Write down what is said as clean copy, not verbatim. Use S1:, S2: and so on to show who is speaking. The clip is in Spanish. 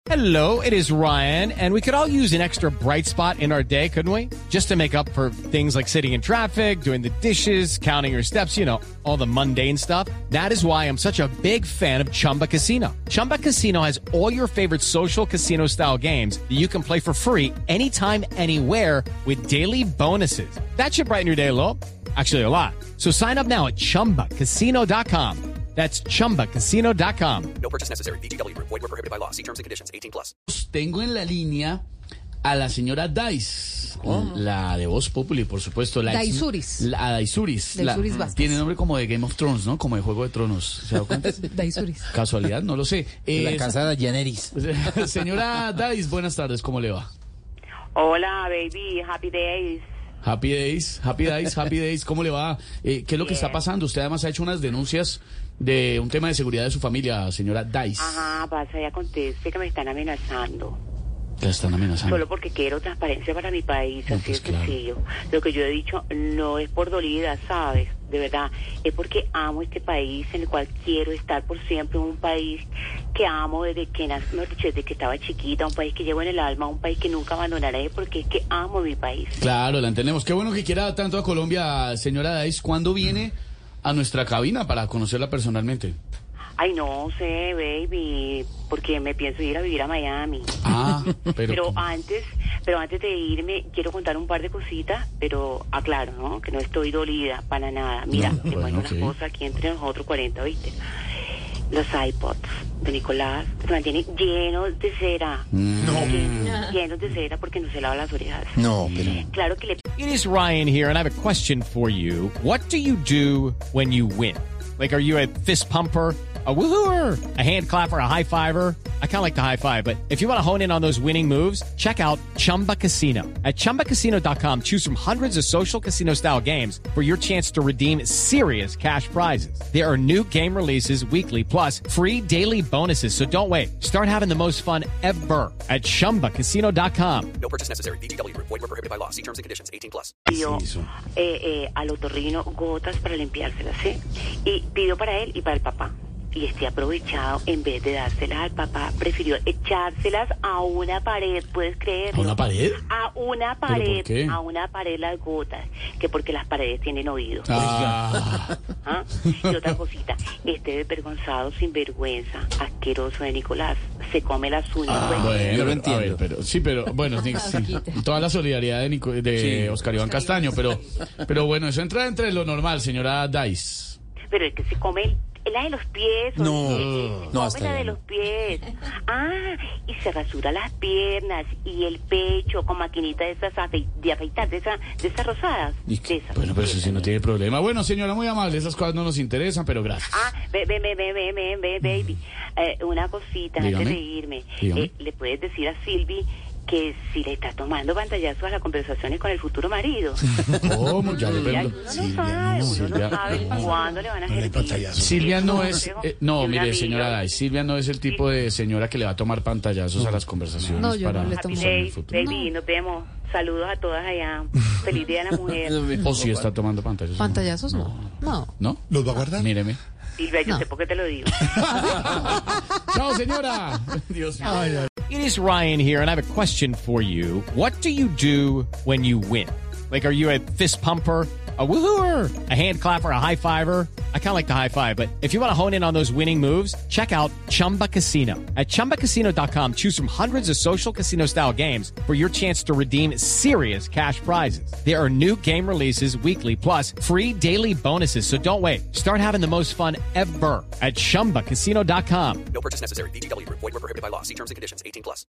S1: Hello, it is Ryan, and we could all use an extra bright spot in our day, couldn't we? Just to make up for things like sitting in traffic, doing the dishes, counting your steps, you know, all the mundane stuff. That is why I'm such a big fan of Chumba Casino. Chumba Casino has all your favorite social casino-style games that you can play for free anytime, anywhere with daily bonuses. That should brighten your day a little. Actually, a lot. So sign up now at ChumbaCasino.com. That's ChumbaCasino.com.
S2: No purchase necessary. VGW Group. Void where prohibited by law. See terms and conditions. 18+.
S3: Tengo en la línea a la señora Dice, la de Voz Populi, por supuesto.
S4: Daisuris.
S3: Daisuris.
S4: Daisuris Vázquez.
S3: Tiene nombre como de Game of Thrones, ¿no? Como de Juego de Tronos. ¿Se da cuenta?
S4: Daisuris.
S3: Casualidad, no lo sé.
S5: La casa de Daenerys.
S3: Señora Dice, buenas tardes, ¿cómo le va?
S6: Hola, baby, happy days.
S3: Happy days, happy days, ¿cómo le va? ¿Qué es lo que está pasando? Usted además ha hecho unas denuncias de un tema de seguridad de su familia, señora Dice.
S6: Ajá, pasa y acontece que me están amenazando.
S3: ¿La están amenazando?
S6: Solo porque quiero transparencia para mi país,
S3: No,
S6: así
S3: pues
S6: de
S3: claro.
S6: sencillo. Lo que yo he dicho no es por dolida, ¿sabes? De verdad, es porque amo este país en el cual quiero estar por siempre, un país que amo desde que desde que estaba chiquita, un país que llevo en el alma, un país que nunca abandonaré porque es que amo mi país.
S3: Claro, la entendemos. Qué bueno que quiera tanto a Colombia, señora Dice. ¿Cuándo viene a nuestra cabina para conocerla personalmente?
S6: Ay, no sé, baby, porque me pienso ir a vivir a Miami.
S3: Ah,
S6: Pero antes de irme, quiero contar un par de cositas, pero aclaro, ¿no? Que no estoy dolida para nada. Mira,
S3: No,
S6: te
S3: bueno,
S6: cuento
S3: ok.
S6: una cosa aquí entre nosotros 40, ¿viste? Los iPods de Nicolás se mantienen llenos de cera. Llenos de cera porque no se lava las orejas.
S5: No, pero...
S6: Claro que le...
S1: It is Ryan here, and I have a question for you. What do you do when you win? Like, are you a fist pumper, a woohooer, a hand clapper, a high fiver? I kind of like the high five, but if you want to hone in on those winning moves, check out Chumba Casino. At ChumbaCasino.com, choose from hundreds of social casino-style games for your chance to redeem serious cash prizes. There are new game releases weekly, plus free daily bonuses. So don't wait. Start having the most fun ever at ChumbaCasino.com.
S2: No purchase necessary. VGW Group. Void where prohibited by law. See terms and conditions. 18+.
S6: pidió al otorrino gotas para limpiárselas, ¿sí? Y pidió para él y para el papá. Y este aprovechado, en vez de dárselas al papá, prefirió echárselas a una pared, ¿puedes creerlo?
S3: ¿A una pared?
S6: A una
S3: ¿Pero
S6: pared,
S3: por qué?
S6: a una pared las gotas, que porque las paredes tienen oídos.
S3: Ah,
S6: ¿Ah? Y otra cosita, este desvergonzado, sinvergüenza, asqueroso de Nicolás, se come las uñas. pues.
S3: bueno,
S5: Yo lo
S3: a
S5: entiendo.
S3: ver, pero sí, pero bueno, sí, toda la solidaridad de Oscar Iván Castaño, pero bueno, eso entra entre lo normal, señora Dice.
S6: Pero es que se come la de los pies.
S5: No,
S6: se
S5: no,
S6: come
S5: hasta
S6: la de
S5: ahí.
S6: los pies. Ah, y se rasura las piernas y el pecho con maquinita de esas de afeitar, de esas rosadas.
S3: ¿Y
S6: De
S3: qué?
S6: esas.
S3: Bueno, pero eso sí no tiene problema. Bueno, señora, muy amable, esas cosas no nos interesan, pero gracias.
S6: Ah, baby. Una cosita
S3: Dígame.
S6: antes de irme.
S3: Dígame.
S6: Le puedes decir a Silvi que si le está tomando pantallazos a las conversaciones con el futuro marido.
S3: ¿Cómo? Ya le
S6: Uno
S3: pregunto.
S6: no sabe cuándo le van a hacer.
S3: Silvia no es... no,
S6: de una
S3: mire,
S6: amiga.
S3: señora Dice, Silvia no es el tipo de señora que le va a tomar pantallazos a las conversaciones
S4: No, yo
S3: para
S4: no le
S6: Happy
S4: tomo.
S3: en el
S6: days,
S3: futuro.
S6: baby, nos vemos. Saludos a todas allá. Feliz día de la mujer.
S3: ¿O si está tomando pantallazos?
S4: ¿Pantallazos? No.
S3: ¿No?
S5: ¿Los va a guardar?
S3: Míreme.
S6: Silvia, yo
S4: No.
S6: sé por qué te lo digo.
S3: ¡Chao, señora! Dios mío.
S1: It is Ryan here, and I have a question for you. What do you do when you win? Like, are you a fist pumper, a woohooer, a hand clapper, a high fiver? I kind of like the high five, but if you want to hone in on those winning moves, check out Chumba Casino. At ChumbaCasino.com, choose from hundreds of social casino-style games for your chance to redeem serious cash prizes. There are new game releases weekly, plus free daily bonuses. So don't wait. Start having the most fun ever at ChumbaCasino.com.
S2: No purchase necessary. VGW Group. Void where prohibited by law. See terms and conditions. 18+.